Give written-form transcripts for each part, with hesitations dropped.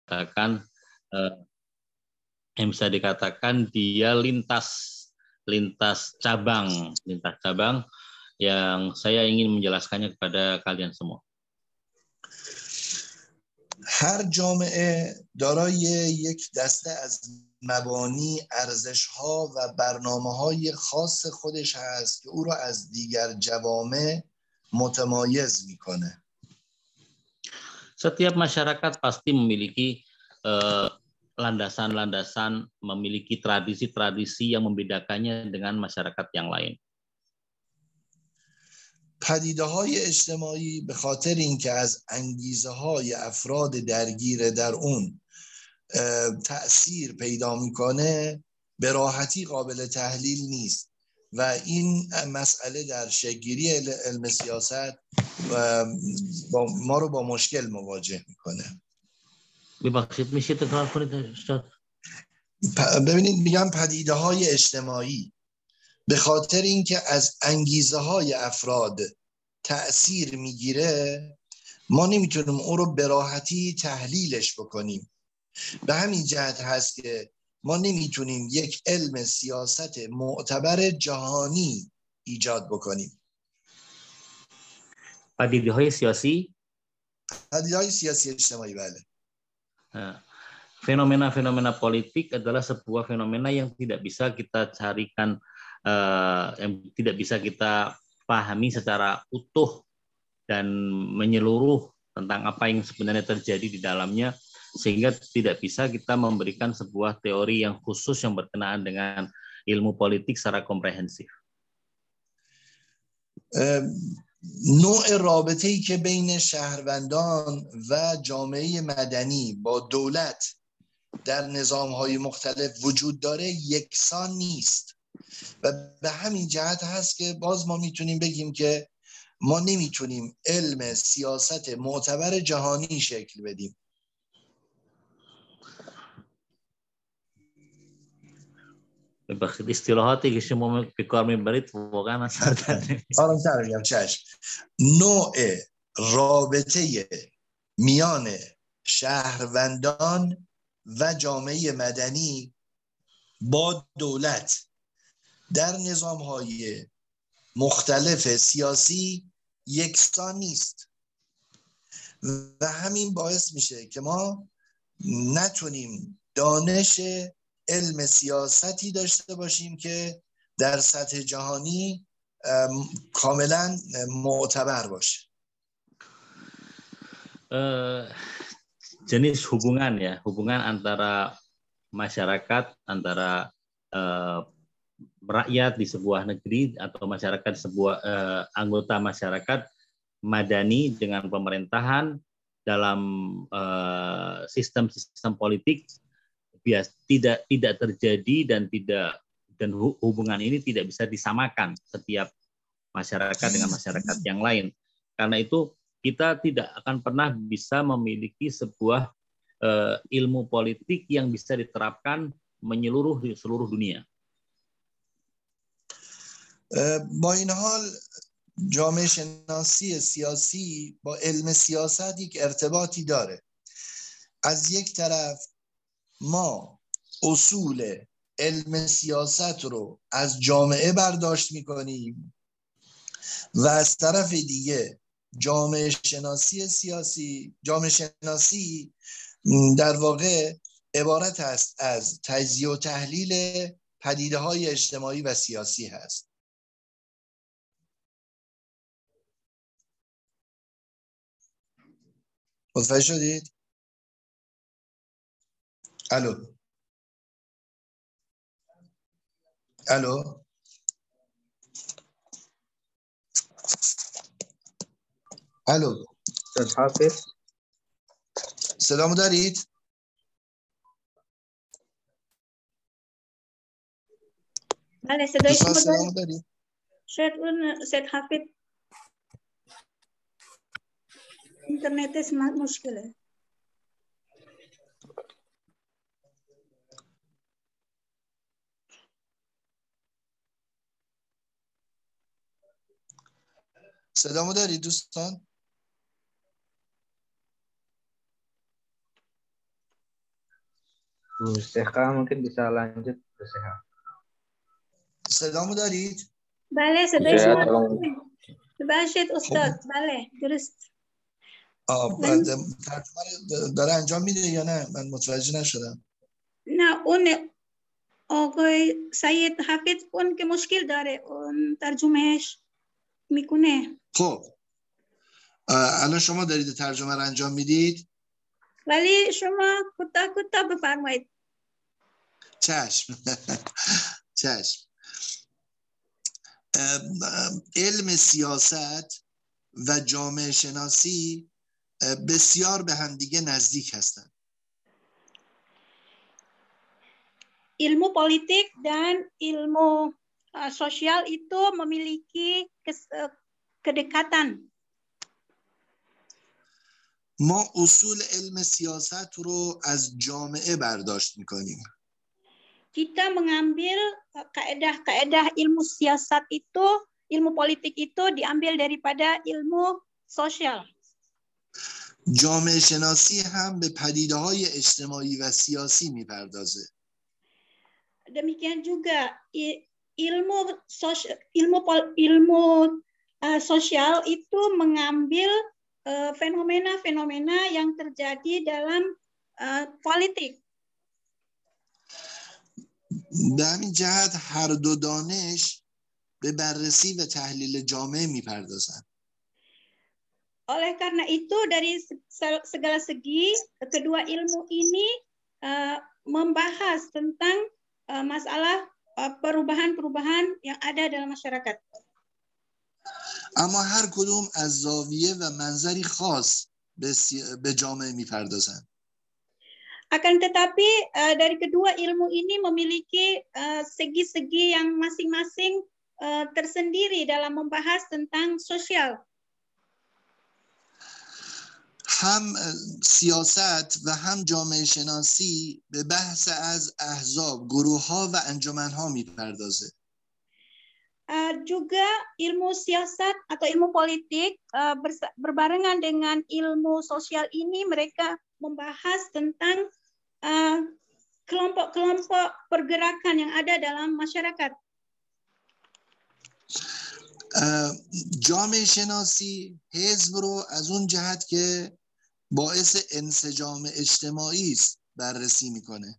dikatakan dia lintas cabang yang saya ingin menjelaskannya kepada kalian semua. هر جامعه دارای یک دسته از مبانی، ارزش‌ها و برنامه‌های خاص خودش هست که او را از دیگر جوامع متمایز می‌کنه. Setiap masyarakat pasti memiliki landasan-landasan, memiliki tradisi-tradisi yang membedakannya dengan masyarakat yang lain. پدیده‌های اجتماعی به خاطر اینکه از انگیزه‌های افراد درگیر در اون تأثیر پیدا میکنه به راحتی قابل تحلیل نیست و این مسئله در شکل‌گیری علم سیاست ما رو با مشکل مواجه میکنه. ببخشید میشه تکرار کنید استاد؟ ببینید میگم پدیده‌های اجتماعی به خاطر اینکه از انگیزه‌های افراد تأثیر میگیره ما نمیتونیم اون رو به راحتی تحلیلش بکنیم. به همین جهت هست که ما نمیتونیم یک علم سیاست معتبر جهانی ایجاد بکنیم. پدیده‌های سیاسی اجتماعی بله. Fenomena-fenomena politik adalah sebuah fenomena yang tidak bisa kita carikan, yang tidak bisa kita pahami secara utuh dan menyeluruh tentang apa yang sebenarnya terjadi di dalamnya, sehingga tidak bisa kita memberikan sebuah teori yang khusus yang berkenaan dengan ilmu politik secara komprehensif. نوع رابطه‌ای که بین شهروندان و جامعه مدنی با دولت در نظام‌های مختلف وجود داره یکسان نیست و به همین جهت هست که باز ما میتونیم بگیم که ما نمیتونیم علم سیاست معتبر جهانی شکل بدیم. ببخشید اصطلاحاتی که شما به کار میبرید واقعا اصلا آرام‌تر میگم چشم. نوع رابطه میان شهروندان و جامعه مدنی با دولت در نظام‌های مختلف سیاسی یکسان نیست و همین باعث میشه که ما نتونیم دانش علم سیاستی داشته باشیم که در سطح جهانی کاملا معتبر باشه. Jenis hubungan antara masyarakat, antara rakyat di sebuah negeri atau masyarakat sebuah anggota masyarakat madani dengan pemerintahan dalam sistem politik tidak terjadi dan hubungan ini tidak bisa disamakan setiap masyarakat dengan masyarakat yang lain. Karena itu kita tidak akan pernah bisa memiliki sebuah ilmu politik yang bisa diterapkan menyeluruh di seluruh dunia. با این حال جامعه شناسی سیاسی با علم سیاست یک ارتباطی داره. از یک طرف ما اصول علم سیاست رو از جامعه برداشت میکنیم و از طرف دیگه جامعه شناسی در واقع عبارت است از تجزیه و تحلیل پدیده‌های اجتماعی و سیاسی هست. متوجه شدید؟ الو استاد حافظ صدامو دارید؟ بله صدای شما دارید؟ شاید اون استاد حافظ اینترنتش مشکله. صدامو دارید دوستان؟ Bu Seha mungkin bisa lanjut, Bu Seha. صدامو دارید؟ بله صدای Saya شما tolong. ببخشید استاد بله درست بعد ترجمه داره انجام میده یا نه؟ من متوجه نشدم. نه اون آقای سید حافظ اون که مشکل داره اون ترجمهش میکنه. خب الان شما دارید ترجمه رو انجام میدید؟ ولی شما کوتاه بفرمایید. چشم. چشم. علم سیاست و جامعه شناسی بسیار به همدیگه نزدیک هستند. Ilmu politik dan ilmu sosial itu memiliki kedekatan. ما اصول علم سیاست رو از جامعه برداشت میکنیم. Kita mengambil kaedah-kaedah ilmu siasat itu, ilmu politik itu diambil daripada ilmu sosial. جامعه شناسی هم به پدیده‌های اجتماعی و سیاسی میپردازه. Demikian juga ilmu sosial itu mengambil fenomena-fenomena yang terjadi dalam politik. به همین جهت هر دو دانش به بررسی و تحلیل جامعه میپردازند. Oleh karena itu dari segala segi kedua ilmu ini membahas tentang masalah perubahan-perubahan yang ada dalam masyarakat. اما هر کدوم از زاویه و منظری خاص به جامعه میپردازند. Akan tetapi dari kedua ilmu ini memiliki segi-segi yang masing-masing tersendiri dalam membahas tentang sosial. هم سیاست و هم جامعه شناسی به بحث از احزاب، گروه ها و انجمن ها میپردازه. Juga ilmu siasat atau ilmu politik berbarengan dengan ilmu sosial ini mereka membahas tentang kelompok-kelompok pergerakan yang ada dalam masyarakat. جامعه شناسی حزب رو از اون جهت که باعث انسجام اجتماعی است بررسی میکنه.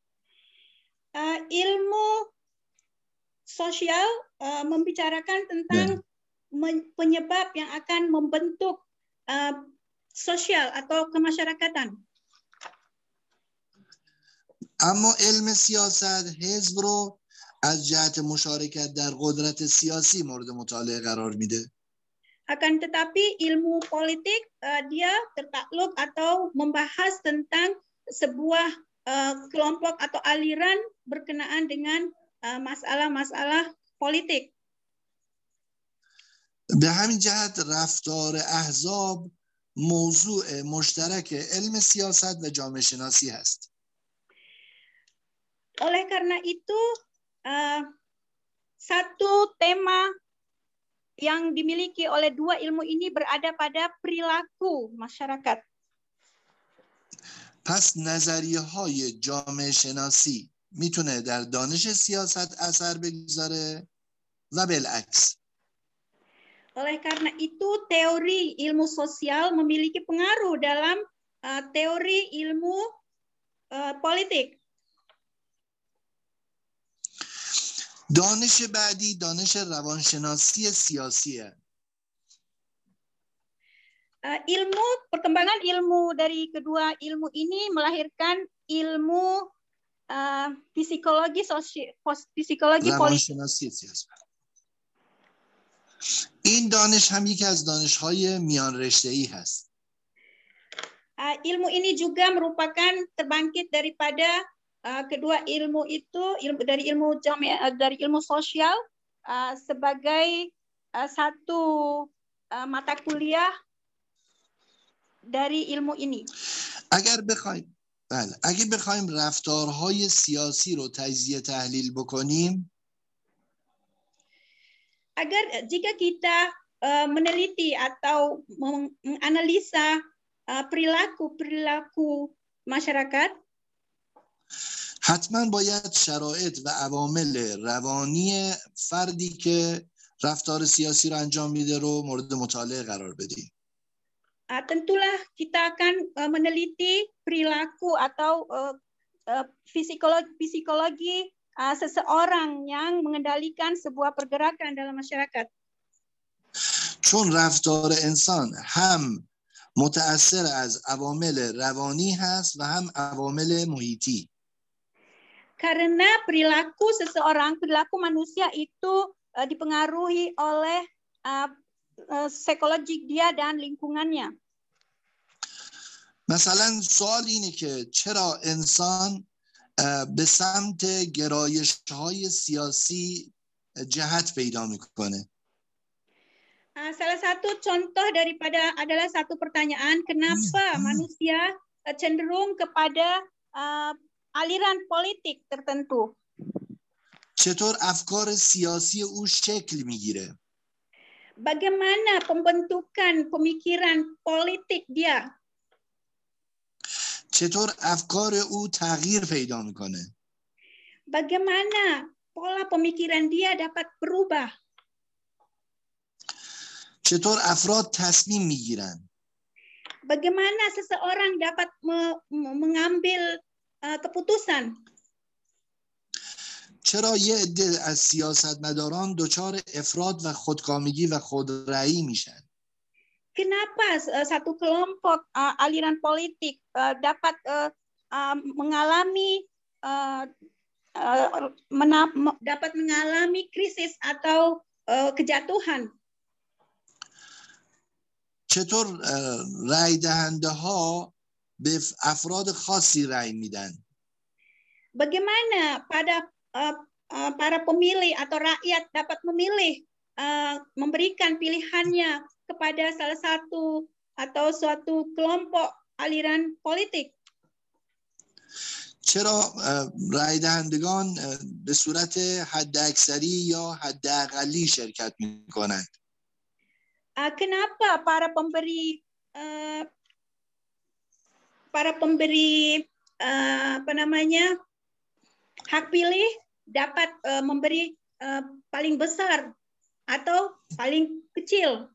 Ilmu sosial membicarakan tentang penyebab yang akan membentuk sosial atau kemasyarakatan. اما علم سیاست حزب رو از جهت مشارکت در قدرت سیاسی مورد مطالعه قرار میده. Akan tetapi ilmu politik dia tertakluk atau membahas tentang sebuah kelompok atau aliran berkenaan dengan masalah-masalah politik. به همین جهت رفتار احزاب موضوع مشترک علم سیاست و جامعه شناسی هست. Oleh karena itu satu tema yang dimiliki oleh dua ilmu ini berada pada perilaku masyarakat. پس نظریه های جامعه شناسی میتونه در دانش سیاست اثر بگذاره و بالعکس. Oleh karena itu teori ilmu sosial memiliki pengaruh dalam teori ilmu politik. دانش بعدی دانش روانشناسی سیاسیه. Perkembangan ilmu dari kedua ilmu ini melahirkan ilmu psikologi روانشناسی سیاسی. این دانش هم یکی از دانش‌های میان رشته‌ای هست. Ilmu ini juga merupakan terbangkit daripada kedua ilmu itu, dari ilmu sosial sebagai satu mata kuliah dari ilmu ini. اگه بخوایم رفتارهای سیاسی رو تجزیه تحلیل بکنیم، jika kita meneliti atau menganalisa perilaku masyarakat, حتما باید شرایط و عوامل روانی فردی که رفتار سیاسی رو انجام میده رو مورد مطالعه قرار بدیم. Tentulah kita akan meneliti perilaku atau psikologi seseorang yang mengendalikan sebuah pergerakan dalam masyarakat. چون رفتار انسان هم متأثر از عوامل روانی هست و هم عوامل محیطی. Karena perilaku seseorang, perilaku manusia itu dipengaruhi oleh psikologik dia dan lingkungannya. مثلا سوال اینه که چرا انسان به سمت گرایش‌های سیاسی جهت پیدا میکنه؟ Salah satu contoh adalah satu pertanyaan, kenapa manusia cenderung kepada aliran politik tertentu? چطور افکار سیاسی او شکل میگیره؟ Bagaimana pembentukan pemikiran politik dia? چطور افکار او تغییر پیدا میکنه؟ Bagaimana pola pemikiran dia dapat berubah? چطور افراد تصمیم میگیرن؟ Bagaimana seseorang dapat mengambil keputusan? چرا یه عده از سیاستمداران دچار افراط و خودکامگی و خودرأیی میشن؟ Kenapa satu kelompok aliran politik dapat mengalami krisis atau kejatuhan? چطور رأی دهنده ها به افراد خاصی رأی میدن؟ Bagaimana para pemilih atau rakyat dapat memilih memberikan pilihannya kepada salah satu atau suatu kelompok aliran politik? چرا رأی دهندگان به صورت حداکثری یا حداقلی شرکت میکنند؟ Kenapa para pemberi hak pilih dapat memberi paling besar atau paling kecil?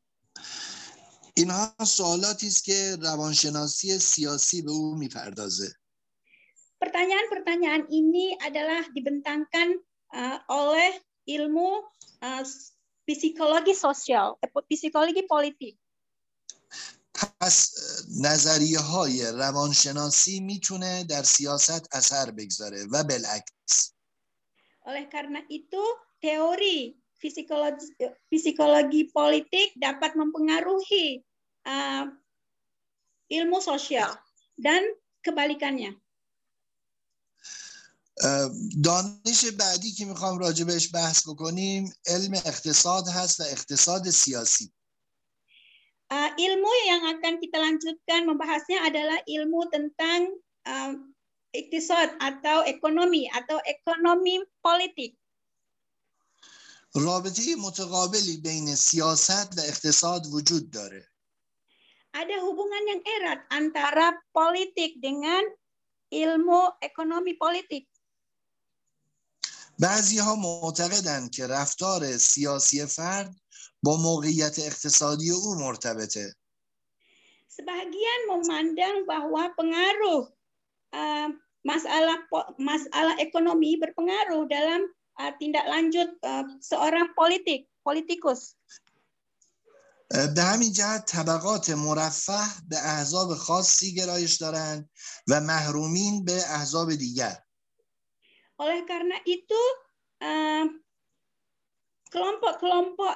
اینها سوالاتی است که روانشناسی سیاسی به او میپردازه. Pertanyaan-pertanyaan ini adalah dibentangkan oleh ilmu psikologi sosial, psikologi politik. پس نظریه های روانشناسی میتونه در سیاست اثر بگذاره و بالعکس. Oleh karena itu, teori psikologi politik dapat mempengaruhi ilmu sosial dan kebalikannya. دانش بعدی که میخوام راجع بهش بحث بکنیم علم اقتصاد هست و اقتصاد سیاسی. Ilmu yang akan kita lanjutkan membahasnya adalah ilmu tentang iktisad atau ekonomi politik. رابطه متقابلی بین سیاست و اقتصاد وجود داره. Ada hubungan yang erat antara politik dengan ilmu ekonomi politik. بعضی‌ها معتقدند که رفتار سیاسی فرد با موقعیت اقتصادی او مرتبطه. Sebagian memandang bahwa pengaruh masalah ekonomi berpengaruh dalam tindak lanjut seorang politikus. به همین جهت طبقات مرفه به احزاب خاصی گرایش دارند و محرومین به احزاب دیگر. Oleh karena itu kelompok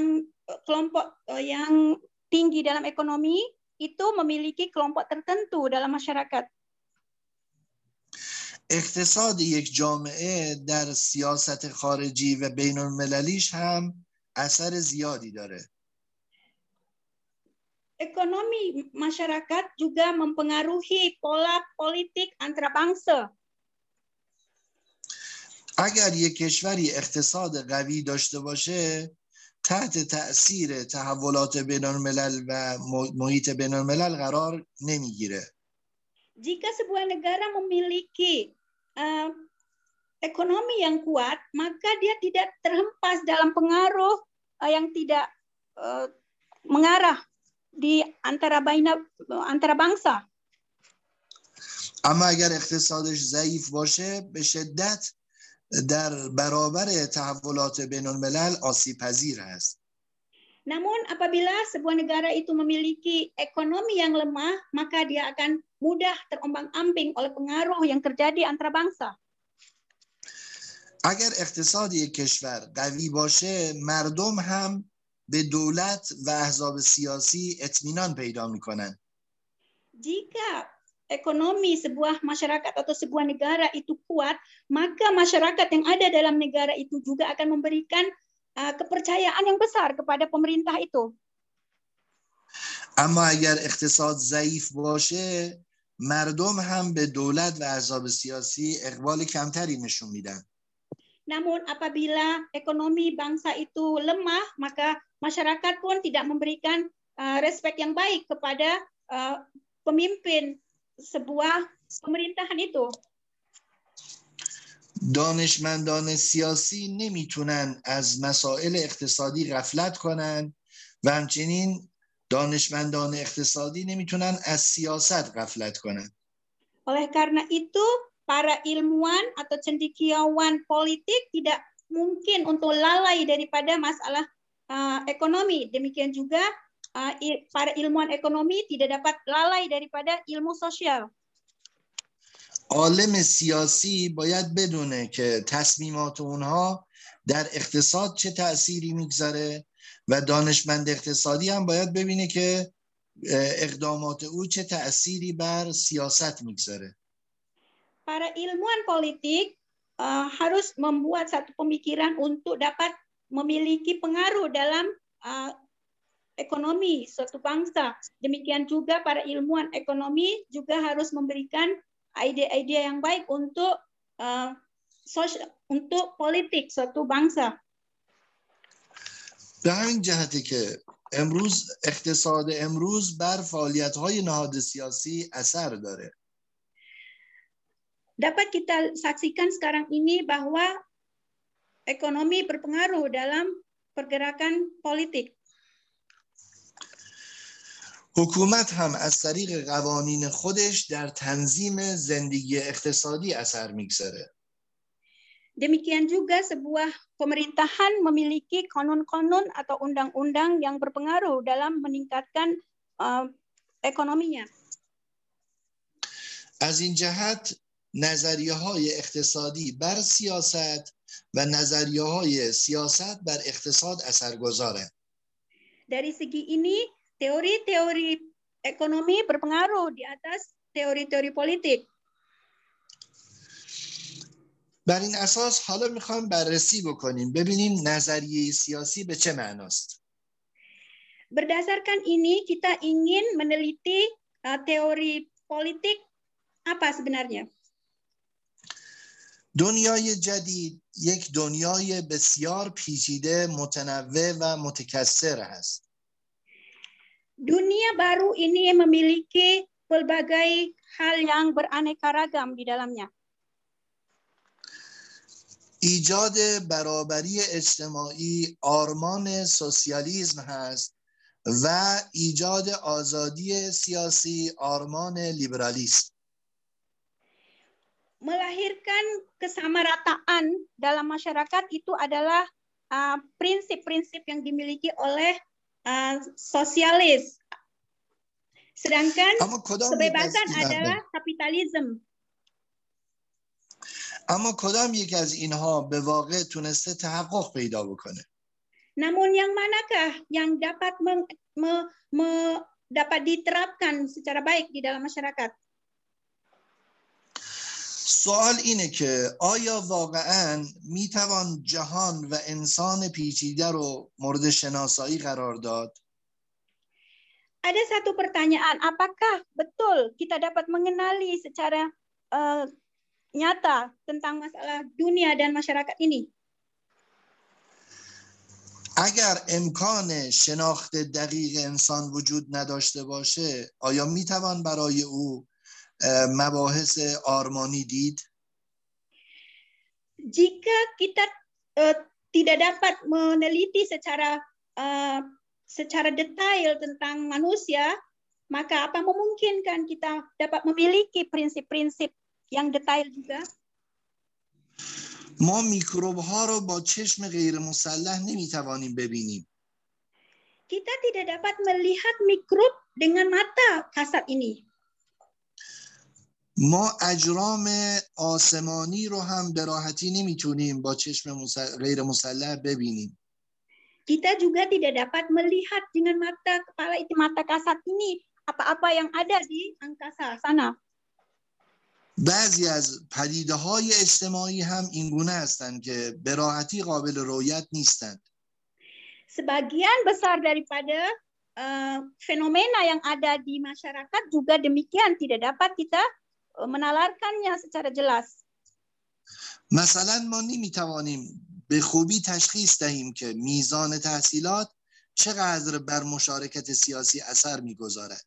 yang tinggi dalam ekonomi itu memiliki kelompok tertentu dalam masyarakat. اقتصاد یک جامعه در سیاست خارجی و بین المللیش هم اثر زیادی داره. Ekonomi masyarakat juga mempengaruhi pola politik antarabangsa. اگر یک کشوری اقتصاد قوی داشته باشه تحت تأثیر تحولات بین الملل و محیط بین الملل قرار نمیگیره. Jika sebuah negara memiliki ekonomi yang kuat, maka dia tidak terhempas dalam pengaruh yang tidak mengarah di antara bangsa. اما اگر اقتصادش ضعیف باشه به شدت در برابر تحولات بین الملل آسیب پذیر است. Namun apabila sebuah negara itu memiliki ekonomi yang lemah, maka dia akan mudah terombang-ambing oleh pengaruh yang terjadi antara bangsa. اگر اقتصاد یک کشور قوی باشه مردم هم به دولت و احزاب سیاسی اطمینان پیدا میکنن. Jika ekonomi sebuah masyarakat atau sebuah negara itu kuat, maka masyarakat yang ada dalam negara itu juga akan memberikan kepercayaan yang besar kepada pemerintah itu. اما اگر اقتصاد ضعیف باشه مردم هم به دولت و احزاب سیاسی اقبال کمتری نشون میدن. Namun apabila ekonomi bangsa itu lemah, maka masyarakat pun tidak memberikan respek yang baik kepada pemimpin sebuah pemerintahan itu. دانشمندان سیاسی نمیتونن از مسائل اقتصادی غفلت کنن و همچنین دانشمندان اقتصادی نمیتونن از سیاست غفلت کنن. Oleh karena itu, para ilmuwan atau cendekiawan politik tidak mungkin untuk lalai daripada masalah ekonomi. Demikian juga para ilmuwan ekonomi tidak dapat lalai daripada ilmu sosial. عالم سیاسی باید بدونه که تصمیمات اونها در اقتصاد چه تأثیری میگذاره و دانشمند اقتصادی هم باید ببینه که اقدامات او چه تأثیری بر سیاست میگذاره. Para ilmuwan politik harus membuat satu pemikiran untuk dapat memiliki pengaruh dalam ekonomi suatu bangsa. Demikian juga para ilmuwan ekonomi juga harus memberikan ide-ide yang baik untuk politik suatu bangsa. به همین جهته که امروز اقتصاد امروز بر فعالیت‌های نهاد سیاسی اثر داره. Dapat kita saksikan sekarang ini bahwa ekonomi berpengaruh dalam pergerakan politik. حکومت هم از طریق قوانین خودش در تنظیم زندگی اقتصادی اثر میگذاره. Demikian juga sebuah pemerintahan memiliki kanun-kanun atau undang-undang yang berpengaruh dalam meningkatkan ekonominya. از این جهت نظریه‌های اقتصادی بر سیاست و نظریه‌های سیاست بر اقتصاد اثرگذاره. Dari segi ini, teori-teori ekonomi berpengaruh di atas teori-teori politik. بر این اساس حالا میخوایم بررسی بکنیم ببینیم نظریه سیاسی به چه معناست. Berdasarkan ini kita ingin meneliti teori politik apa sebenarnya. دنیای جدید یک دنیای بسیار پیچیده، متنوع و متکثر است. Dunia baru ini memiliki pelbagai hal yang beraneka ragam di dalamnya. ایجاد برابری اجتماعی آرمان سوسیالیسم هست و ایجاد آزادی سیاسی آرمان لیبرالیسم. Melahirkan kesamarataan dalam masyarakat itu adalah prinsip-prinsip yang dimiliki oleh sosialis. Sedangkan kebebasan adalah kapitalisme. اما کدام یک از اینها به واقع تونسته تحقق پیدا بکنه؟ Namun yang manakah yang dapat dapat diterapkan secara baik di dalam masyarakat? سوال اینه که آیا واقعاً میتوان جهان و انسان پیچیده رو مورد شناسایی قرار داد؟ Ada satu pertanyaan, apakah betul kita dapat mengenali secara nyata tentang masalah dunia dan masyarakat ini? اگر امکان شناخت دقیق انسان وجود نداشته باشه آیا میتوان برای او مباحث آرمانی دید؟ Jika kita tidak dapat meneliti secara detail tentang manusia, maka apa memungkinkan kita dapat memiliki prinsip-prinsip yang detail juga? ما میکروب ها رو با چشم غیر مسلح نمیتوانیم ببینیم. Kita tidak dapat melihat mikrob dengan mata kasat ini. ما اجرام آسمانی رو هم به راحتی نمیتونیم با چشم غیر مسلح ببینیم. Kita juga tidak dapat melihat dengan mata kasat ini apa-apa yang ada di angkasa sana. بعضی از پدیده‌های اجتماعی هم اینگونه هستند که به راحتی قابل رؤیت نیستند. Sebagian besar daripada fenomena yang ada di masyarakat juga demikian tidak dapat kita menalarkannya secara jelas. مثلا ما نمیتوانیم به خوبی تشخیص دهیم که میزان تحصیلات چقدر بر مشارکت سیاسی اثر میگذارد.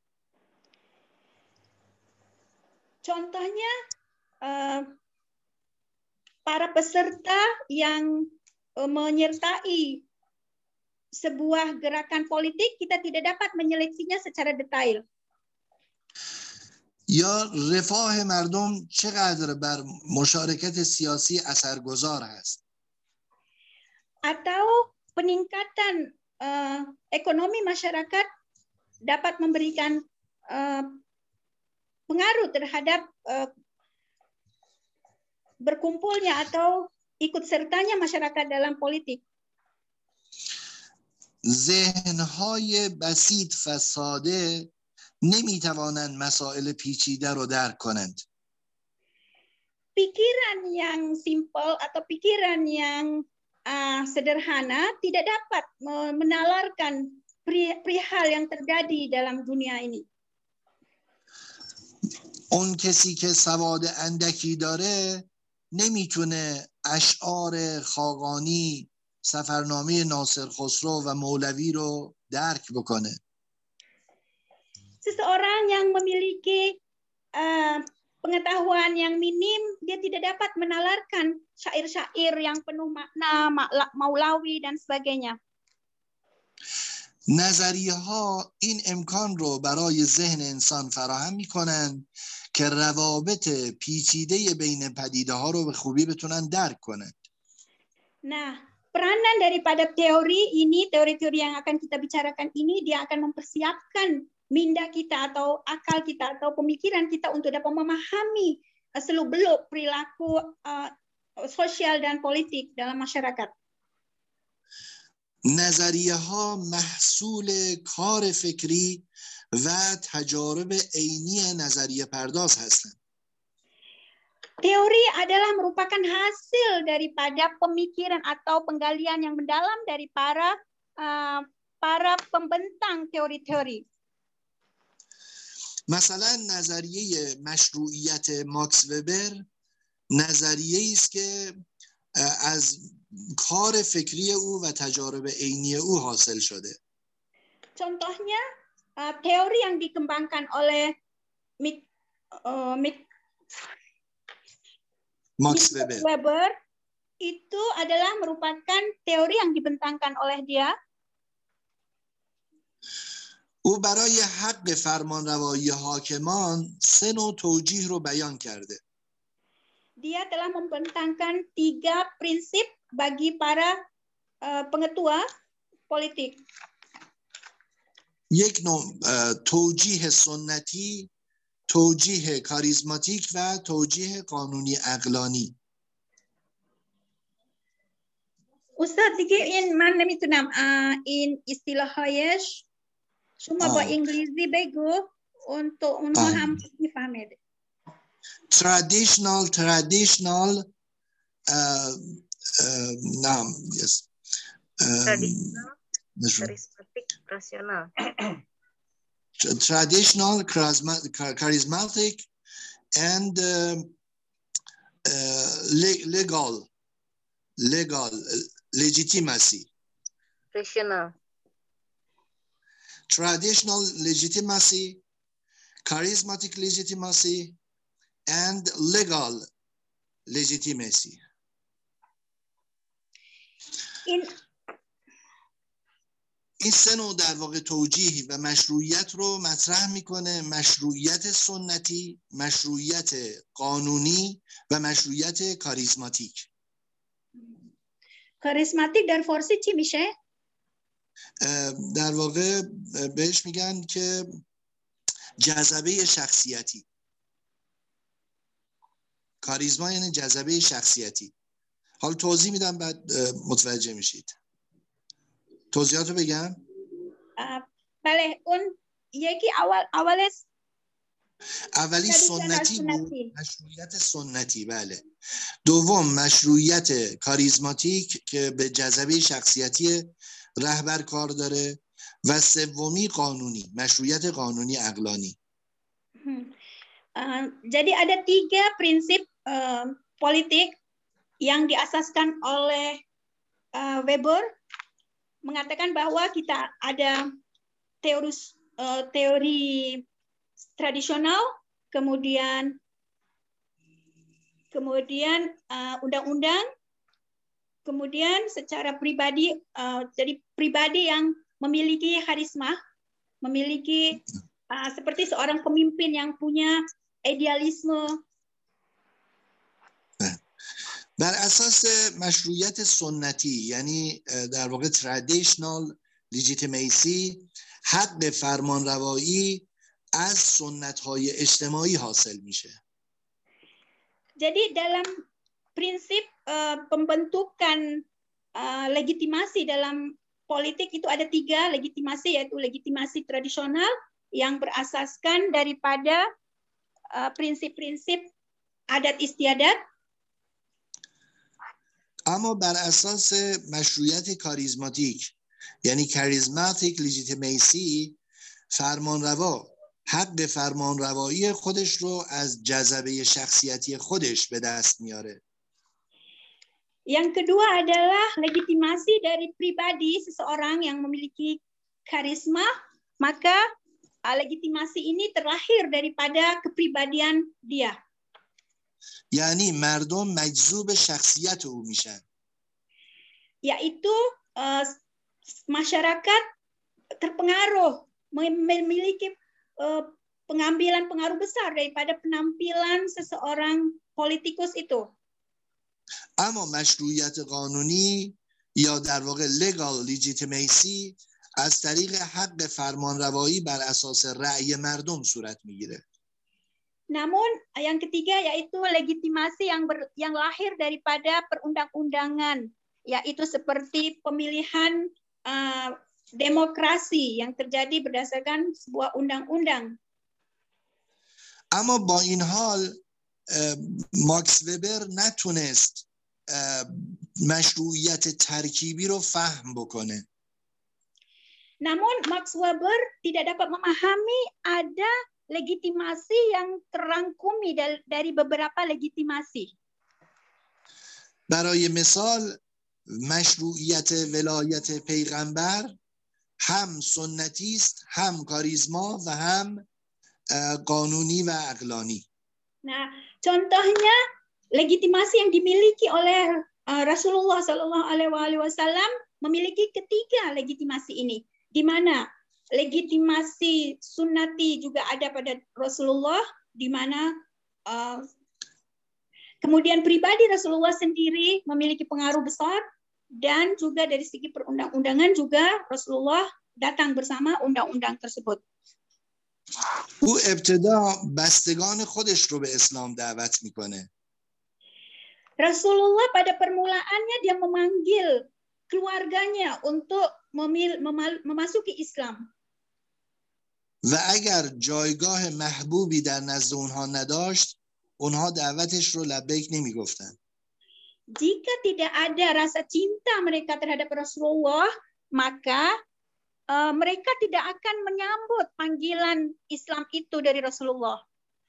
Contohnya para peserta yang menyertai sebuah gerakan politik, kita tidak dapat menyeleksinya secara detail. یا رفاه مردم چقدر بر مشارکت سیاسی اثرگذار است. Atau peningkatan ekonomi masyarakat dapat memberikan pengaruh terhadap berkumpulnya atau ikut sertanya masyarakat dalam politik. ذهن‌های بسیط و ساده نمی‌توانند مسائل پیچیده رو درک کنند. Pikiran yang simpel atau pikiran yang sederhana tidak dapat menalarkan perihal yang terjadi dalam dunia ini. اون کسی که سواد اندکی داره نمیتونه اشعار خاقانی، سفرنامه ناصر خسرو و مولوی رو درک بکنه. Seseorang yang memiliki pengetahuan yang minim, dia tidak dapat menalarkan syair-syair yang penuh makna, Maulawi dan sebagainya. نظریه ها این امکان رو برای ذهن انسان فراهم میکنن که روابط پیچیده بین پدیده ها رو به خوبی بتونن درک کنن. Nah, peranan daripada teori ini, teori-teori yang akan kita bicarakan ini, dia akan mempersiapkan minda kita atau akal kita atau pemikiran kita untuk dapat memahami seluk-beluk perilaku sosial dan politik dalam masyarakat. نظریه ها محصول کار فکری و تجارب عینی نظریه پرداز هستند. Teori adalah merupakan hasil daripada pemikiran atau penggalian yang mendalam dari para pembentang teori-teori. مثلا نظریه مشروعیت ماکس وبر نظریه‌ای است که از کار فکری او و تجارب عینی او حاصل شده. Contohnya teori yang dikembangkan oleh Max Weber itu adalah merupakan teori yang dibentangkan oleh dia. او برای حق فرمانروایی حاکمان 3 نوع توجیه رو بیان کرده. Dia telah membentangkan 3 prinsip bagi para pengetua politik. یک نوع توجیه سنتی، توجیه کاریزماتیک و توجیه قانونی عقلانی. Ustaz, man میتونم این اصطلاحایش شما با انگلیسی بگو untuk اونها هم میفهمید. traditional yes charismatic, rasional. Traditional, charismatic, and legal, legitimacy. Rational. Traditional legitimacy, charismatic legitimacy and legal legitimacy. این سه نوع در واقع توجیه و مشروعیت رو مطرح میکنه: مشروعیت سنتی، مشروعیت قانونی و مشروعیت کاریزماتیک. کاریزماتیک در فارسی چی میشه؟ در واقع بهش میگن که جذبه شخصیتی. کاریزما یعنی جذبه شخصیتی. حالا توضیح میدم بعد متوجه میشید. توضیحاتو بگم؟ بله، اون یکی اولی سنتی بود، مشروعیت سنتی. بله. دوم مشروعیت کاریزماتیک که به جذبه شخصیتی رهبر کار داره و سومی قانونی، مشروعیت قانونی عقلانی. Jadi ada 3 prinsip politik yang diasaskan oleh Weber, mengatakan bahwa kita ada teori tradisional, kemudian undang-undang, kemudian secara pribadi, jadi pribadi yang memiliki karisma, memiliki seperti seorang pemimpin yang punya idealisme. بر اساس مشروعیت سنتی یعنی در واقع traditional legitimacy، حق فرمانروایی از سنت‌های اجتماعی حاصل میشه. Jadi dalam prinsip pembentukan legitimasi dalam politik itu ada 3 legitimasi, yaitu legitimasi tradisional yang berasaskan daripada prinsip-prinsip adat istiadat. اما بر اساس مشروعیت کاریزماتیک یعنی charismatic legitimacy، فرمانروا حق فرمانروایی خودش رو از جذبه شخصیتی خودش به دست میاره. Yang kedua adalah legitimasi dari pribadi seseorang yang memiliki karisma, maka legitimasi ini terlahir daripada kepribadian dia. یعنی مردم مجذوب شخصیت او میشن. Yaitu masyarakat terpengaruh, memiliki pengambilan pengaruh besar daripada penampilan seseorang politikus itu. اما مشروعیت قانونی یا در واقع legal legitimacy از طریق حق فرمانروایی بر اساس رأی مردم صورت میگیره. Namun yang ketiga yaitu legitimasi yang lahir daripada perundang-undangan, yaitu seperti pemilihan demokrasi yang terjadi berdasarkan sebuah undang-undang. اما با این حال ماکس وبر نتونست مشروعیت ترکیبی رو فهم بکنه. Namun Max Weber tidak dapat memahami ada legitimasi yang terangkumi dari beberapa legitimasi. برای مثال مشروعیت ولایت پیغمبر هم سنتی است، هم کاریزما و هم قانونی و عقلانی. Nah, contohnya legitimasi yang dimiliki oleh Rasulullah SAW memiliki ketiga legitimasi ini, di mana legitimasi sunnati juga ada pada Rasulullah, di mana kemudian pribadi Rasulullah sendiri memiliki pengaruh besar, dan juga dari segi perundang-undangan juga Rasulullah datang bersama undang-undang tersebut. او ابتدا بستگان خودش رو به اسلام دعوت میکنه. Rasulullah pada permulaannya dia memanggil keluarganya untuk memasuki Islam. و اگر جایگاه محبوبی در نزد اونها نداشت، اونها دعوتش رو لبیک نمیگفتن. Jika tidak ada rasa cinta mereka terhadap Rasulullah, maka mereka tidak akan menyambut panggilan Islam itu dari Rasulullah.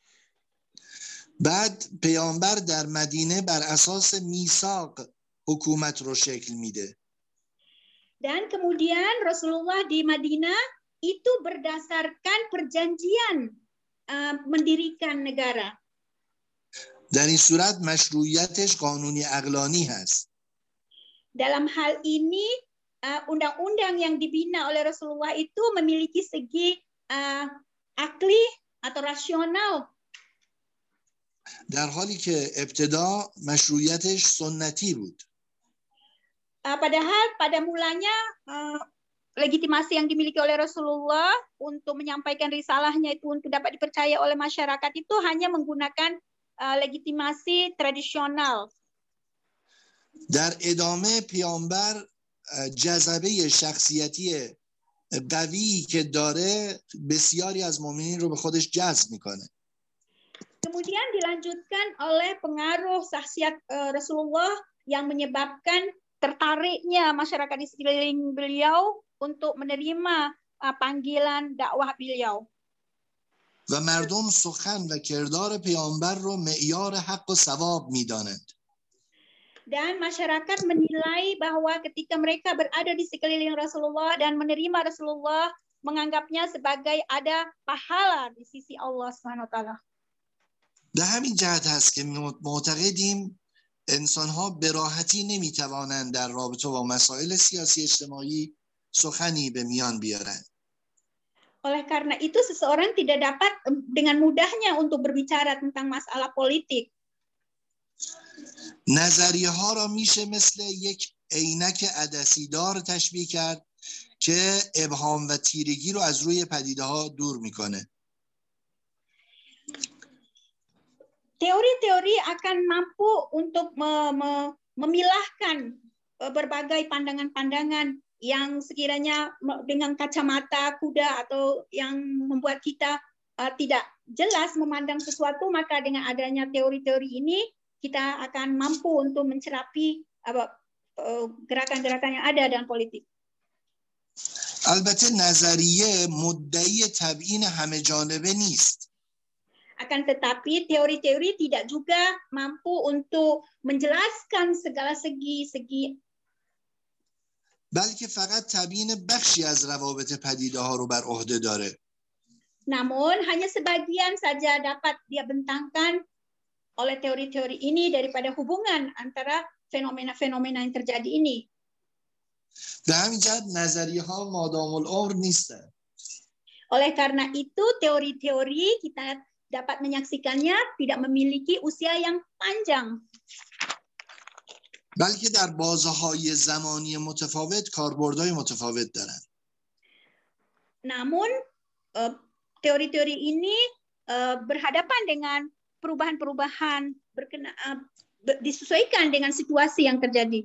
بعد پیامبر در مدینه بر اساس میثاق حکومت رو شکل میده. Dan kemudian Rasulullah di Madinah itu berdasarkan perjanjian mendirikan negara. در این صورت مشروعیتش قانونی عقلانی هست. Dalam hal ini, undang-undang yang dibina oleh Rasulullah itu memiliki segi akli atau rasional. در حالی که ابتدا مشروعیتش سنتی بود. Padahal pada mulanya legitimasi yang dimiliki oleh Rasulullah untuk menyampaikan risalahnya itu untuk dapat dipercaya oleh masyarakat itu hanya menggunakan legitimasi tradisional. در ادامه پیامبر جذبه شخصیتی قوی که داره بسیاری از مؤمنین رو به خودش جذب میکنه. Kemudian dilanjutkan oleh pengaruh saksiat Rasulullah yang menyebabkan tertariknya masyarakat di sekeliling beliau untuk menerima panggilan dakwah beliau. و مردم سخن و کردار پیامبر رو معیار حق و ثواب میدانند. Dan masyarakat menilai bahwa ketika mereka berada di sekeliling Rasulullah dan menerima Rasulullah, menganggapnya sebagai ada pahala di sisi Allah Subhanahu wa taala. به همین جهت هست که معتقدیم انسان‌ها به راحتی نمی‌توانند در رابطه با مسائل سیاسی اجتماعی سخنی به میان بیارند. Oleh karena itu seseorang tidak dapat dengan mudahnya untuk berbicara tentang masalah politik. نظریه ها را میشه مثل یک عینک عدسی‌دار تشبیه کرد که ابهام و تیرگی رو از روی پدیده ها دور میکنه. Teori-teori akan mampu untuk memilahkan berbagai pandangan-pandangan yang sekiranya dengan kacamata kuda atau yang membuat kita tidak jelas memandang sesuatu, maka dengan adanya teori-teori ini kita akan mampu untuk mencerapi gerakan-gerakan yang ada dalam politik. البته نظریه مدعی تبیین همه جانبه نیست. Akan tetapi teori-teori tidak juga mampu untuk menjelaskan segala segi-segi. بلکه فقط تبیین بخشی از روابط پدیده ها رو بر عهده داره. Namun hanya sebagian saja dapat dia bentangkan oleh teori-teori ini daripada hubungan antara fenomena-fenomena yang terjadi ini. به همین جهت نظریه ها مادام العمر نیستن. Oleh karena itu teori-teori kita dapat menyaksikannya tidak memiliki usia yang panjang. بلکه در بازه‌های زمانی متفاوت کاربردهای متفاوت دارن. Namun teori-teori ini berhadapan dengan perubahan-perubahan disesuaikan dengan situasi yang terjadi.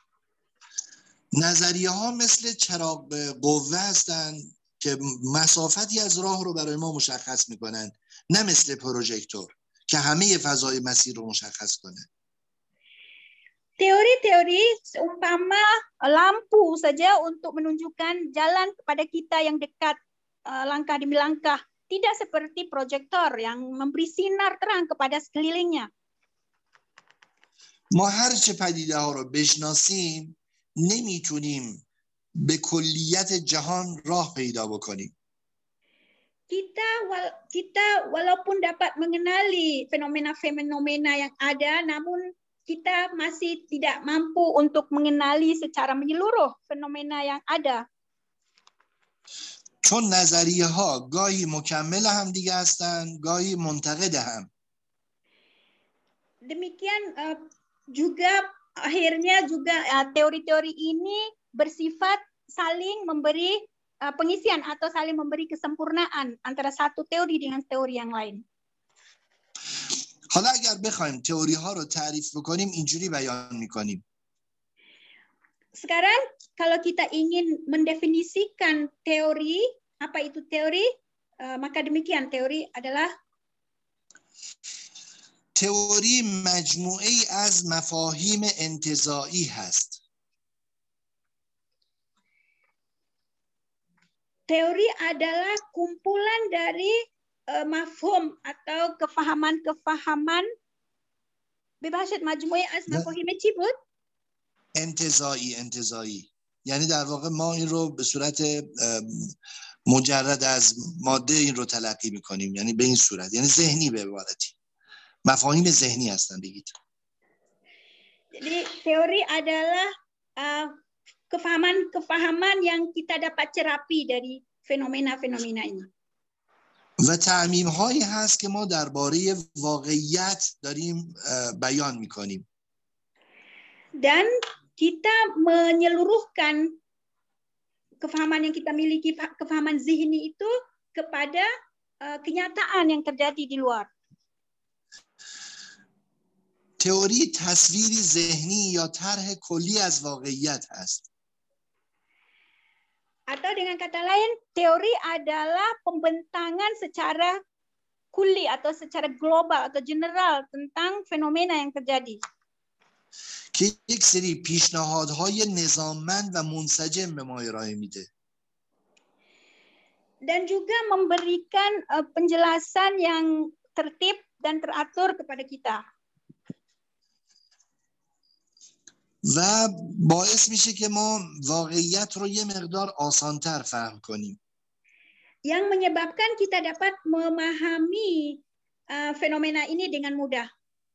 نظریه ها مثل چراغ قوه هستند که مسافتی از راه رو برای ما مشخص میکنن، نه مثل پروژکتور که همه فضای مسیر رو مشخص کنه. Teori-teori seumpama lampu saja untuk menunjukkan jalan kepada kita yang dekat langkah demi langkah, tidak seperti proyektor yang memberi sinar terang kepada sekelilingnya. ما هر چه پدیده ها رو بشناسیم نمیتونیم به کلیت جهان راه پیدا بکنیم. Kita walaupun dapat mengenali fenomena-fenomena yang ada, namun kita masih tidak mampu untuk mengenali secara menyeluruh fenomena yang ada. چون نظریه ها گاهی مکمل هم دیگه هستن، گاهی منتقد هم. Demikian juga akhirnya juga teori-teori ini bersifat saling memberi pengisian atau saling memberi kesempurnaan antara satu teori dengan teori yang lain. حالا اگر بخوایم تئوری ها رو تعریف بکنیم اینجوری بیان میکنیم. Sekarang kalau kita ingin mendefinisikan teori, apa itu teori? Maka demikian teori adalah تئوری مجموعه از مفاهیم انتزاعی هست. Teori adalah kumpulan dari mafhum atau kefahaman-kefahaman ببخشید مجموعه از مفاهیم چی بود؟ انتزاعی یعنی در واقع ما این رو به صورت مجرد از ماده این رو تلقی میکنیم، یعنی به این صورت، یعنی ذهنی به عبارتی، مفاهیم ذهنی هستن. بگید. Jadi teori adalah kefahaman yang kita dapat cerapi dari fenomena-fenomena ini. و تعمیم هایی هست که ما درباره واقعیت داریم بیان میکنیم. Dan kita menyeluruhkan kefahaman yang kita miliki, kefahaman zihni itu kepada kenyataan yang terjadi di luar. تئوری تصویری ذهنی یا طرح کلی از واقعیت هست. Atau dengan kata lain, teori adalah pembentangan secara kuli atau secara global atau general tentang fenomena yang terjadi. که یک سری پیشنهادهای نظاممند و منسجم به ما ارائه میده. Dan juga memberikan penjelasan yang tertib dan teratur kepada kita. و باعث میشه که ما واقعیت رو یه مقدار آسانتر فهم کنیم. Yang menyebabkan kita dapat memahami fenomena ini dengan mudah.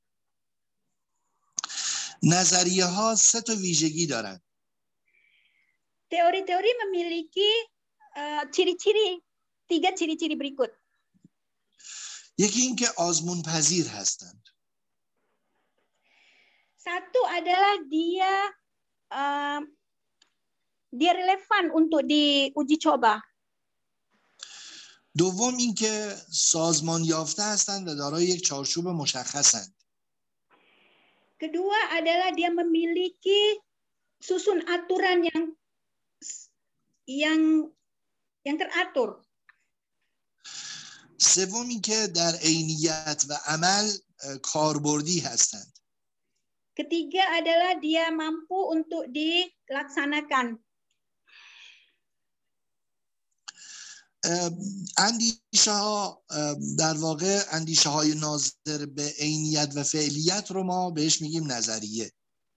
نظریه ها 3 تا ویژگی دارن. Teori-teori memiliki ciri-ciri, 3 ciri-ciri berikut. یکی این که آزمون پذیر هستند. Satu adalah dia relevan untuk diuji coba. دوم این که سازمان یافته هستند و دارای یک چارچوب مشخصند. Kedua adalah dia memiliki susun aturan yang teratur. سوم این که در عینیت و عمل کاربردی هستند. Ketiga adalah dia mampu untuk dilaksanakan. اندیشه ها در واقع اندیشه های ناظر به عینیت و فعلیت رو ما بهش میگیم نظریه.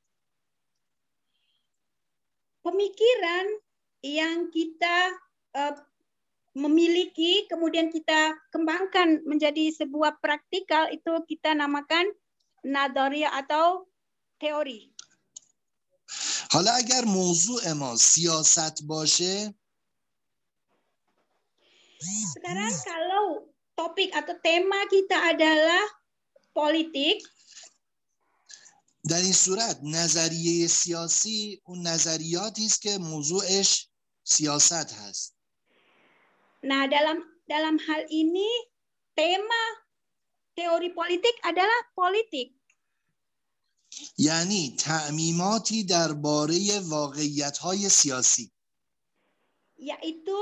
Pemikiran yang kita memiliki kemudian kita kembangkan menjadi sebuah praktikal itu kita namakan nadharia atau teori. حالا اگر موضوع ما سیاست باشه، sekarang kalau topik atau tema kita adalah politik, در این صورت نظریه سیاسی اون نظریاتی است که موضوعش سیاست هست. Nah, dalam hal ini tema teori politik adalah politik. یعنی تعمیماتی درباره واقعیت‌های سیاسی. Yaitu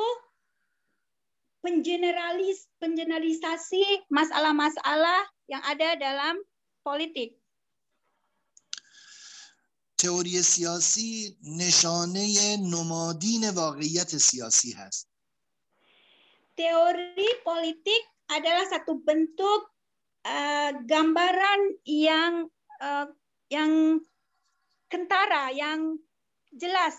pengeneralisasi masalah-masalah yang ada dalam politik. تئوری سیاسی نشانه نمادین واقعیت سیاسی هست. Teori politik adalah satu bentuk gambaran yang kentara, yang jelas.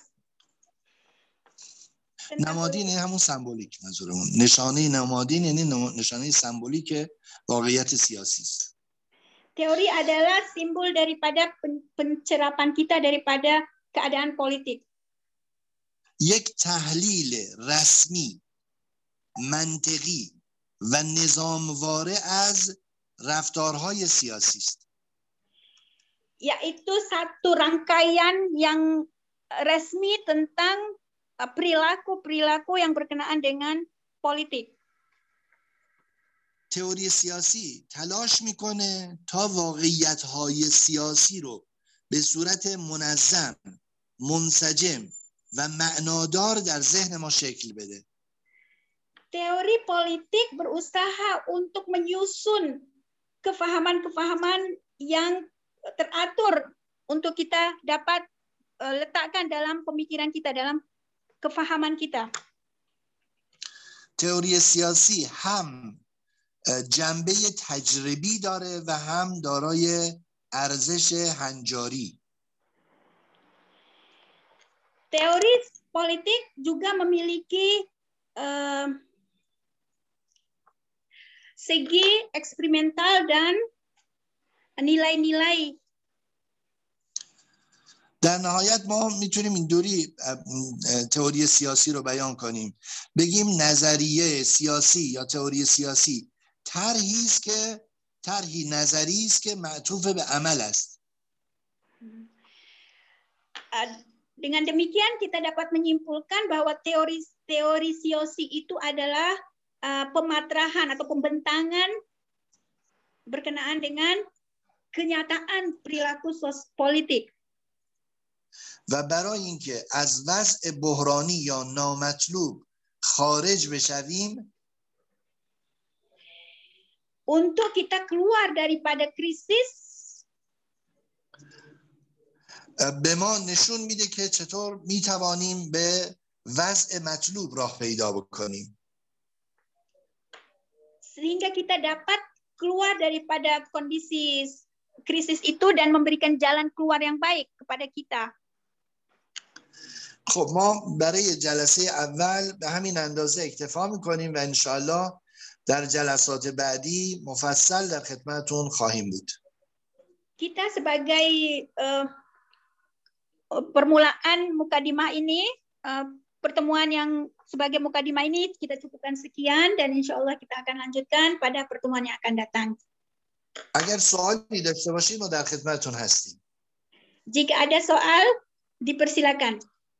نمادین همون سمبولیک منظورمون. نشانه نمادین یعنی نشانه سمبولیک واقعیت سیاسی است. Teori adalah simbol daripada pencerapan kita daripada keadaan politik. یک تحلیل رسمی، منطقی و نظامواره از رفتارهای سیاسی است. Yaitu satu rangkaian yang resmi tentang perilaku-perilaku yang berkenaan dengan politik. تئوری سیاسی تلاش میکنه تا واقعیت‌های سیاسی رو به صورت منظم، منسجم و معنادار در ذهن ما شکل بده. Teori politik berusaha untuk menyusun kefahaman-kefahaman yang teratur untuk kita dapat letakkan dalam pemikiran kita, dalam kefahaman kita. تئوری سیاسی هم جنبه تجربی داره و هم دارای ارزش هنجاری. Teori politik juga memiliki segi eksperimental dan nilai-nilai. در نهایت ما میتونیم اینطوری تئوری سیاسی رو بیان کنیم، بگیم نظریه سیاسی یا تئوری سیاسی طرحی نظری است که معطوف به عمل است. Dengan demikian kita dapat menyimpulkan bahwa teori siosi itu adalah pematrahan atau pembentangan berkenaan dengan kenyataan perilaku politik. و برای اینکه از وضع بحرانی یا نامطلوب خارج بشویم، untuk kita keluar daripada krisis, به ما نشون میده که چطور میتوانیم به وضع مطلوب راه پیدا بکنیم. Sehingga kita dapat keluar daripada kondisi krisis itu dan memberikan jalan keluar yang baik kepada kita. خب ما برای جلسه اول به همین اندازه اکتفا میکنیم و انشالله در جلسات بعدی مفصل در خدمتتون خواهیم بود. Kita sebagai permulaan mukadimah ini, pertemuan yang sebagai mukadimah ini kita cukupkan sekian dan insyaallah kita akan lanjutkan pada pertemuan yang akan datang. اگر سوالی داشته باشید ما در خدمتتون هستیم. Jika ada soal, dipersilakan.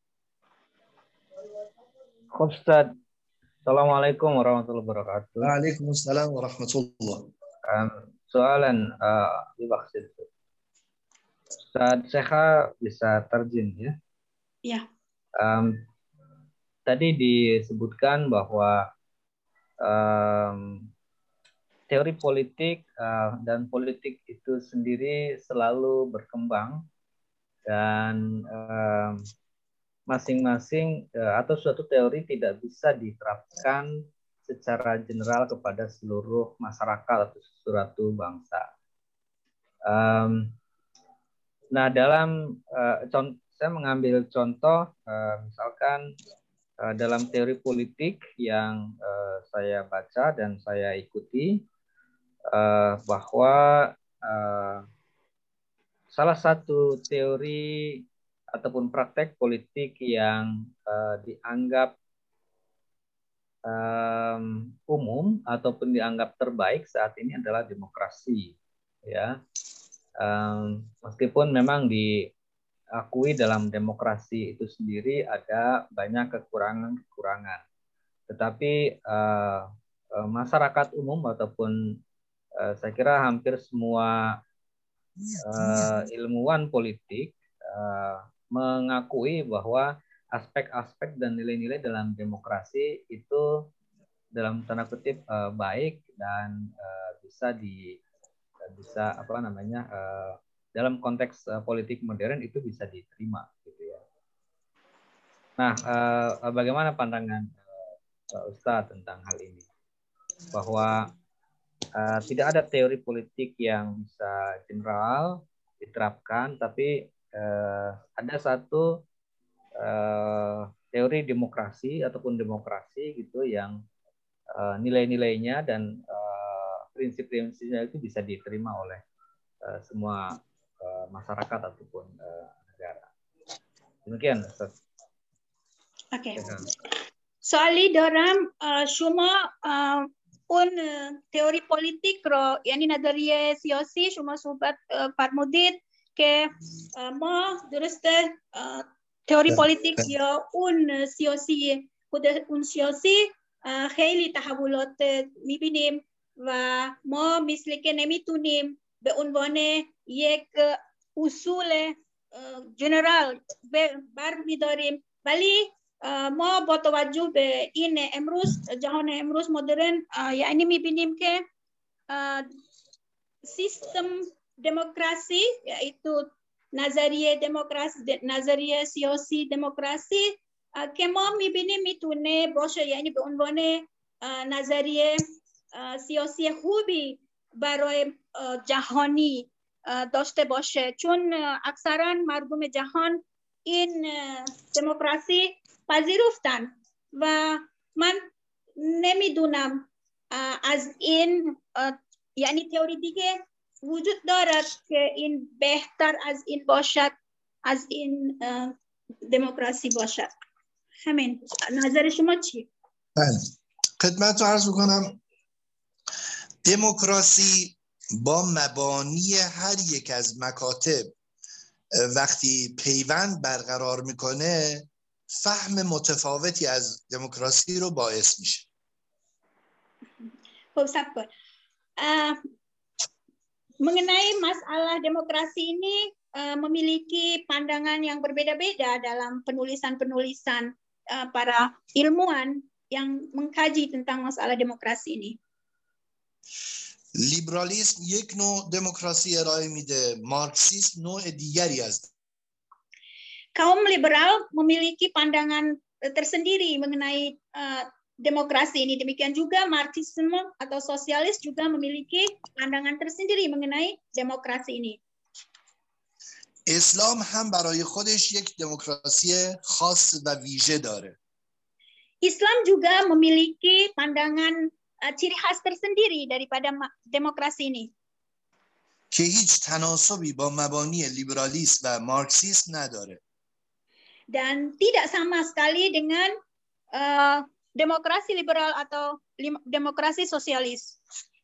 Khub Ustaz. Assalamualaikum warahmatullahi wabarakatuh. Waalaikumsalam warahmatullah. Soalan dimaksud. Ustaz Syekha bisa terjun ya? Ya. Tadi disebutkan bahwa teori politik dan politik itu sendiri selalu berkembang dan masing-masing atau suatu teori tidak bisa diterapkan secara general kepada seluruh masyarakat atau suatu bangsa. Nah, dalam saya mengambil contoh misalkan dalam teori politik yang saya baca dan saya ikuti bahwa salah satu teori ataupun praktek politik yang dianggap umum ataupun dianggap terbaik saat ini adalah demokrasi, ya. Meskipun memang diakui dalam demokrasi itu sendiri ada banyak kekurangan-kekurangan, tetapi masyarakat umum ataupun saya kira hampir semua ilmuwan politik mengakui bahwa aspek-aspek dan nilai-nilai dalam demokrasi itu dalam tanda kutip baik dan bisa dalam konteks politik modern itu bisa diterima gitu ya. Nah, bagaimana pandangan Ustadz tentang hal ini? Bahwa tidak ada teori politik yang bisa general diterapkan, tapi ada satu teori demokrasi ataupun demokrasi gitu yang nilai-nilainya dan prinsip-prinsipnya itu bisa diterima oleh semua masyarakat ataupun negara. Demikian, Ustaz. Oke. Soali dalam شما اون تئوری پلیتیک رو یعنی نظریه سیاسی شما صحبت فرمودید که ما درسته تئوری پلیتیک یا اون سیاسی خود اون سیاسی خیلی تحولات میبینیم و ما مثل که نمیتونیم به عنوان یک اصول جنرال برمیداریم، ولی ما با توجه به این امروز جهان امروز مدرن یعنی میبینیم که سیستم دموکراسی یaitu نظریه سیاسی دموکراسی که ما میبینیم میتونه باشه یعنی به عنوان نظریه سیاسی خوبی برای جهانی داشته باشه، چون اکثرا مردم جهان این دموکراسی پذیرفتن و من نمیدونم از این یعنی تئوری دیگه وجود دارد که این بهتر از این باشد، از این دموکراسی باشد. همین. نظر شما چی؟ بله، خدمت رو عرض میکنم. دموکراسی با مبانی هر یک از مکاتب وقتی پیوند برقرار میکنه فهم متفاوتی از دموکراسی رو باعث میشه. خب صبر kok. Mengenai masalah demokrasi ini memiliki pandangan yang berbeda-beda dalam penulisan-penulisan para ilmuwan yang mengkaji tentang masalah demokrasi ini. لیبرالیسم یک نوع دموکراسی ارائه میده، مارکسیسم نوع دیگری است. Kaum liberal memiliki pandangan tersendiri mengenai demokrasi ini. Demikian juga Marxisme atau sosialis juga memiliki pandangan tersendiri mengenai demokrasi ini. اسلام هم برای خودش یک دموکراسی خاص و ویژه داره. Islam juga memiliki pandangan ciri khas tersendiri daripada demokrasi ini. که هیچ تناسبی با مبانی لیبرالیسم و مارکسیسم نداره. Dan tidak sama sekali dengan demokrasi liberal atau demokrasi sosialis.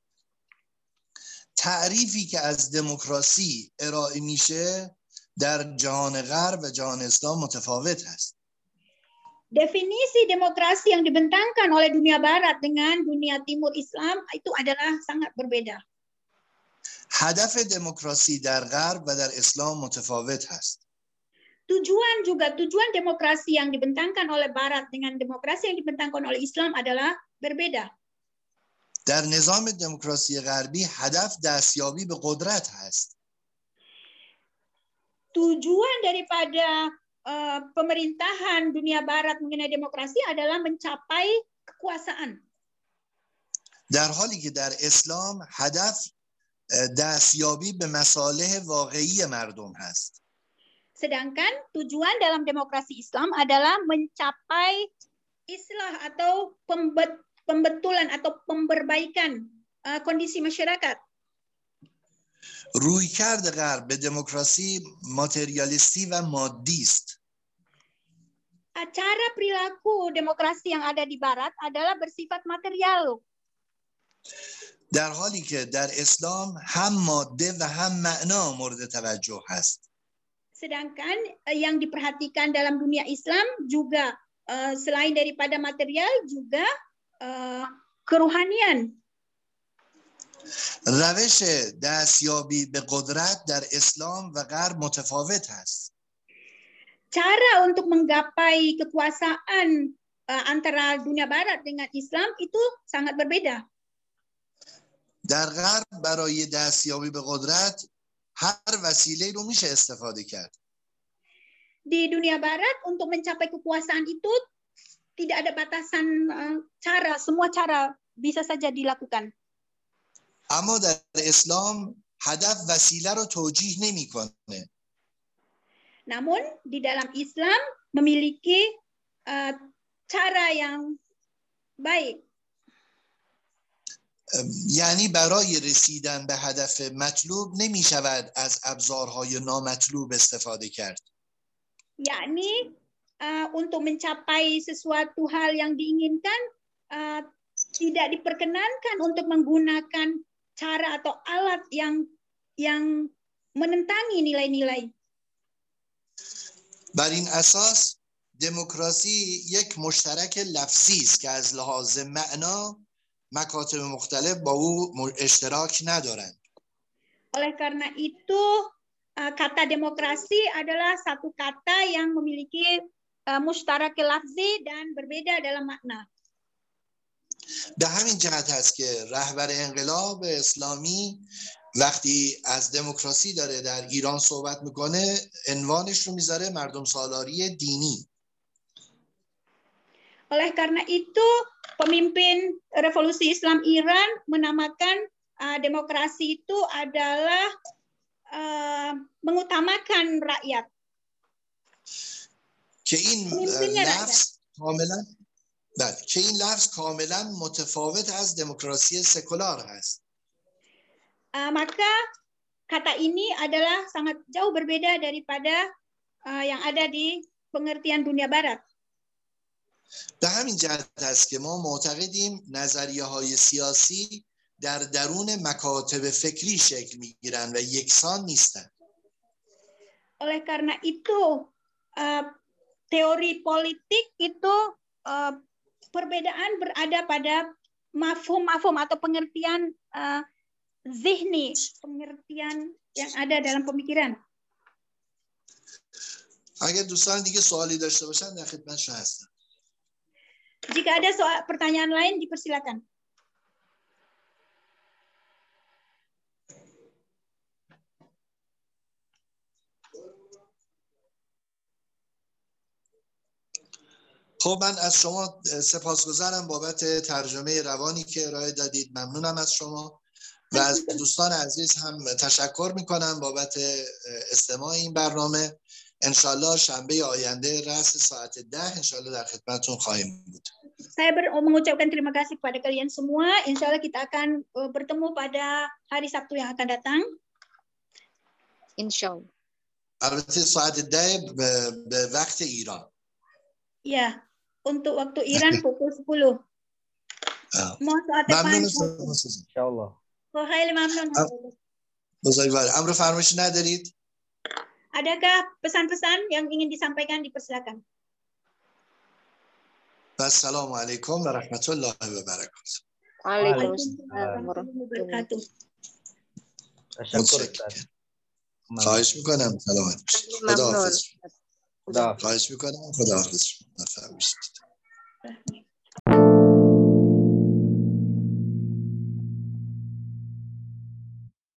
تعریفی که از دموکراسی ارائه میشه در جهان غرب و جهان اسلام متفاوت است. Definisi demokrasi yang dibentangkan oleh dunia barat dengan dunia timur Islam itu adalah sangat berbeda. هدف دموکراسی در غرب و در اسلام متفاوت است. Tujuan demokrasi yang dibentangkan oleh barat dengan demokrasi yang dibentangkan oleh Islam adalah berbeda. در نظام دموکراسی غربی هدف دستیابی به قدرت هست. Tujuan daripada pemerintahan dunia barat mengenai demokrasi adalah mencapai kekuasaan. در حالی که در اسلام هدف دستیابی به مصالح واقعی مردم هست. Sedangkan tujuan dalam demokrasi Islam adalah mencapai islah atau pembetulan atau pemberbaikan kondisi masyarakat. رویکرد غرب به دموکراسی ماتریالیستی و مادی است. Cara perilaku demokrasi yang ada di barat adalah bersifat material. در حالی که در اسلام هم ماده و هم معنا مورد توجه هست. Sedangkan yang diperhatikan dalam dunia Islam juga selain daripada material juga keruhanian. روش دستیابی به قدرت در اسلام و غرب متفاوت است. Cara untuk menggapai kekuasaan antara dunia barat dengan Islam itu sangat berbeda. در غرب برای دستیابی به قدرت هر وسیله رو میشه استفاده کرد. Di dunia barat untuk mencapai kekuasaan itu tidak ada batasan cara, semua cara bisa saja dilakukan. اما در اسلام هدف وسیله رو توجیه نمیکنه. Namun di dalam Islam memiliki cara yang baik. یعنی برای رسیدن به هدف مطلوب نمی شود از ابزارهای نامطلوب استفاده کرد. Yakni untuk mencapai sesuatu hal yang diinginkan tidak diperkenankan untuk menggunakan cara atau alat yang menentangi nilai-nilai. بر این اساس دموکراسی یک مشترک لفظی است که از لحاظ معنا مکاتب مختلف با او اشتراک ندارند. Oleh karena itu, kata demokrasi adalah satu kata yang memiliki mustarak lafzi dan berbeda dalam makna. به همین جهت است که رهبر انقلاب اسلامی وقتی از دموکراسی داره در ایران صحبت میکنه عنوانش رو میذاره مردم سالاری دینی. Oleh karena itu, pemimpin Revolusi Islam Iran menamakan demokrasi itu adalah mengutamakan rakyat. که این لفظ کاملا بله که این لفظ کاملا متفاوت از دموکراسی سکولار هست. Maka kata ini adalah sangat jauh berbeda daripada yang ada di pengertian dunia barat. به همین جهت است که ما معتقدیم نظریه‌های سیاسی در درون مکاتب فکری شکل می‌گیرند و یکسان نیستند. Oleh karena itu teori politik itu perbedaan berada pada mafhum-mafhum atau pengertian zihni, pengertian yang ada dalam pemikiran. اگر دوستان دیگه سوالی داشته باشن در خدمتشون هستم. Jika ada pertanyaan lain dipersilakan. خب من از شما سپاسگزارم بابت ترجمه روانی که ارائه دادید. ممنونم از شما و از دوستان عزیز هم تشکر میکنم بابت استماع این برنامه. انشالله شنبه آینده رأس ساعت 10 انشالله در خدمتتون خواهیم بود. Saya mengucapkan terima kasih kepada kalian semua. Insya Allah kita akan bertemu pada hari Sabtu yang akan datang. Insya Allah. البته ساعت 10 به وقت ایران. Ya, untuk waktu Iran pukul 10. Mohon saat depan. Insya Allah. خیلی ممنون. بزرگوار امر فرمایشی ندارید؟ Adakah pesan-pesan yang ingin disampaikan? Dipersilakan. السلام علیکم و رحمت الله و برکاته. Waalaikumsalam warahmatullahi wabarakatuh. خواهش میکنم سلامت باشید. خدا حافظ. خدا خواهش میکنم خدا حافظ.